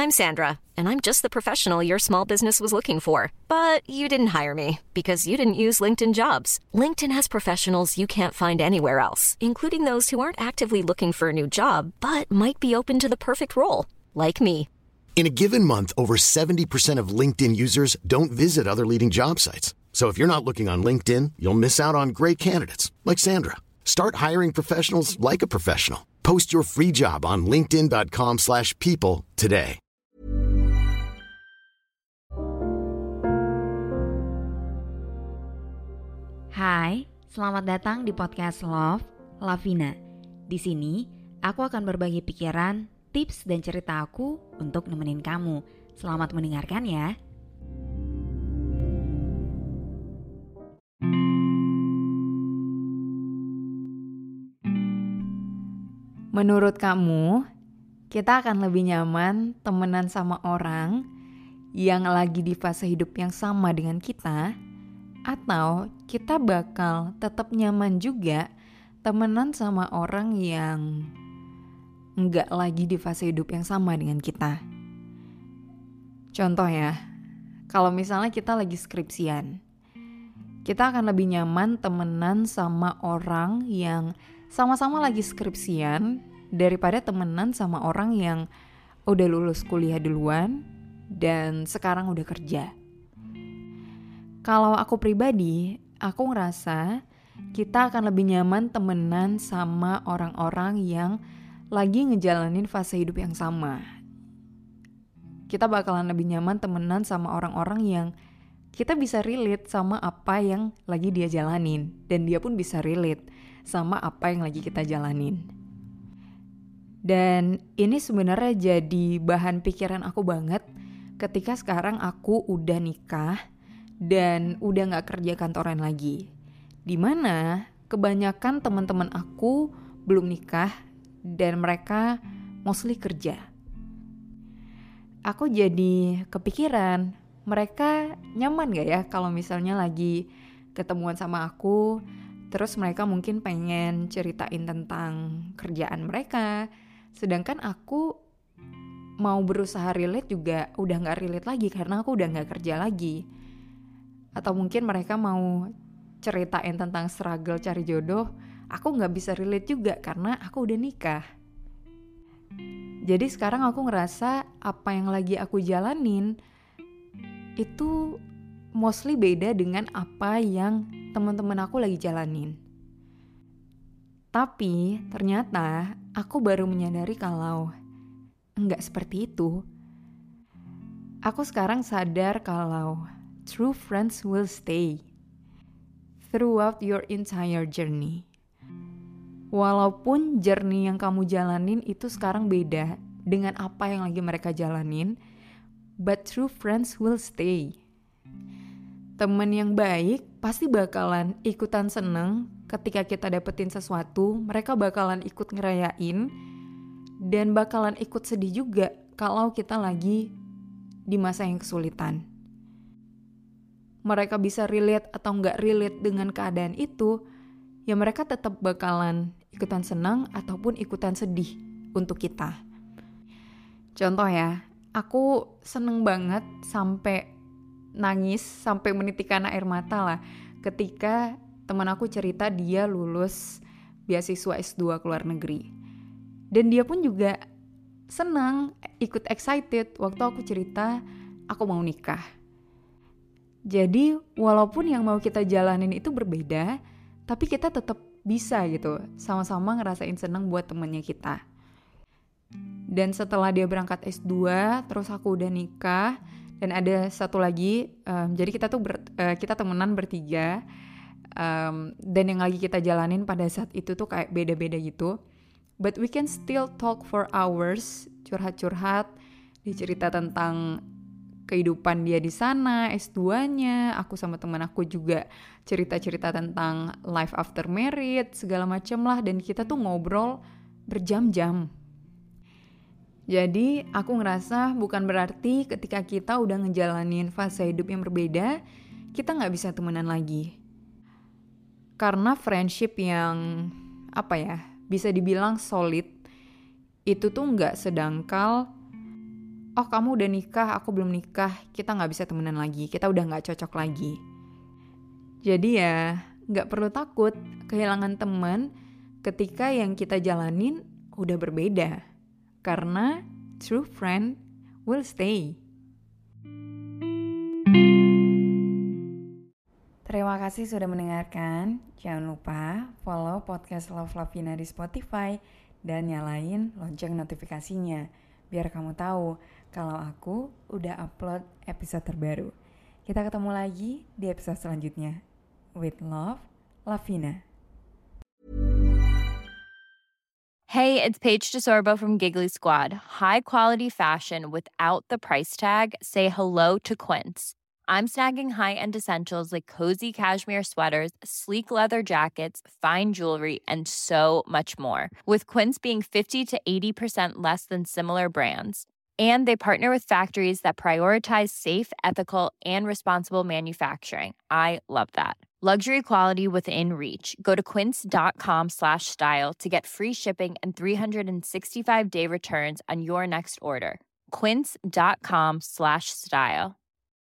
I'm Sandra, and I'm just the professional your small business was looking for. But you didn't hire me because you didn't use LinkedIn Jobs. LinkedIn has professionals you can't find anywhere else, including those who aren't actively looking for a new job, but might be open to the perfect role, like me. In a given month, over 70% of LinkedIn users don't visit other leading job sites. So if you're not looking on LinkedIn, you'll miss out on great candidates like Sandra. Start hiring professionals like a professional. Post your free job on linkedin.com/people today. Hai, selamat datang di podcast Love, Lavina. Di sini, aku akan berbagi pikiran, tips, dan cerita aku untuk nemenin kamu. Selamat mendengarkan ya. Menurut kamu, kita akan lebih nyaman temenan sama orang yang lagi di fase hidup yang sama dengan kita, atau kita bakal tetap nyaman juga temenan sama orang yang nggak lagi di fase hidup yang sama dengan kita? Contoh ya, kalau misalnya kita lagi skripsian, kita akan lebih nyaman temenan sama orang yang sama-sama lagi skripsian daripada temenan sama orang yang udah lulus kuliah duluan dan sekarang udah kerja. Kalau aku pribadi, aku ngerasa kita akan lebih nyaman temenan sama orang-orang yang lagi ngejalanin fase hidup yang sama. Kita bakalan lebih nyaman temenan sama orang-orang yang kita bisa relate sama apa yang lagi dia jalanin, dan dia pun bisa relate sama apa yang lagi kita jalanin. Dan ini sebenarnya jadi bahan pikiran aku banget ketika sekarang aku udah nikah dan udah gak kerja kantoran lagi. Dimana kebanyakan teman-teman aku belum nikah dan mereka mostly kerja. Aku jadi kepikiran, mereka nyaman gak ya kalau misalnya lagi ketemuan sama aku, terus mereka mungkin pengen ceritain tentang kerjaan mereka, sedangkan aku mau berusaha relate juga udah gak relate lagi karena aku udah gak kerja lagi. Atau mungkin mereka mau ceritain tentang struggle cari jodoh, aku gak bisa relate juga karena aku udah nikah. Jadi sekarang aku ngerasa apa yang lagi aku jalanin itu mostly beda dengan apa yang teman-teman aku lagi jalanin. Tapi ternyata aku baru menyadari kalau enggak seperti itu. Aku sekarang sadar kalau true friends will stay throughout your entire journey. Walaupun journey yang kamu jalanin itu sekarang beda dengan apa yang lagi mereka jalanin, but true friends will stay. Temen yang baik pasti bakalan ikutan seneng ketika kita dapetin sesuatu, mereka bakalan ikut ngerayain, dan bakalan ikut sedih juga kalau kita lagi di masa yang kesulitan. Mereka bisa relate atau nggak relate dengan keadaan itu, ya mereka tetap bakalan ikutan senang ataupun ikutan sedih untuk kita. Contoh ya, aku seneng banget sampai nangis, sampai menitikkan air mata lah ketika teman aku cerita dia lulus beasiswa S2 ke luar negeri. Dan dia pun juga senang, ikut excited waktu aku cerita aku mau nikah. Jadi walaupun yang mau kita jalanin itu berbeda, tapi kita tetap bisa gitu, sama-sama ngerasain senang buat temennya kita. Dan setelah dia berangkat S2, terus aku udah nikah, dan ada satu lagi, jadi kita temenan bertiga, dan yang lagi kita jalanin pada saat itu tuh kayak beda-beda gitu. But we can still talk for hours, curhat-curhat, dia cerita tentang kehidupan dia di sana, S2-nya, aku sama teman aku juga cerita-cerita tentang life after married, segala macem lah, dan kita tuh ngobrol berjam-jam. Jadi aku ngerasa bukan berarti ketika kita udah ngejalanin fase hidup yang berbeda, kita gak bisa temenan lagi. Karena friendship yang bisa dibilang solid, itu tuh gak sedangkal oh kamu udah nikah, aku belum nikah, kita gak bisa temenan lagi, kita udah gak cocok lagi. Jadi ya gak perlu takut kehilangan teman ketika yang kita jalanin udah berbeda. Karena true friend will stay. Terima kasih sudah mendengarkan. Jangan lupa follow podcast Love Lavina di Spotify dan nyalain lonceng notifikasinya biar kamu tahu kalau aku udah upload episode terbaru. Kita ketemu lagi di episode selanjutnya. With love, Lavina. Hey, it's Paige DeSorbo from Giggly Squad. High quality fashion without the price tag. Say hello to Quince. I'm snagging high-end essentials like cozy cashmere sweaters, sleek leather jackets, fine jewelry, and so much more. With Quince being 50 to 80% less than similar brands. And they partner with factories that prioritize safe, ethical, and responsible manufacturing. I love that. Luxury quality within reach. Go to quince.com/style to get free shipping and 365-day returns on your next order. Quince.com/style.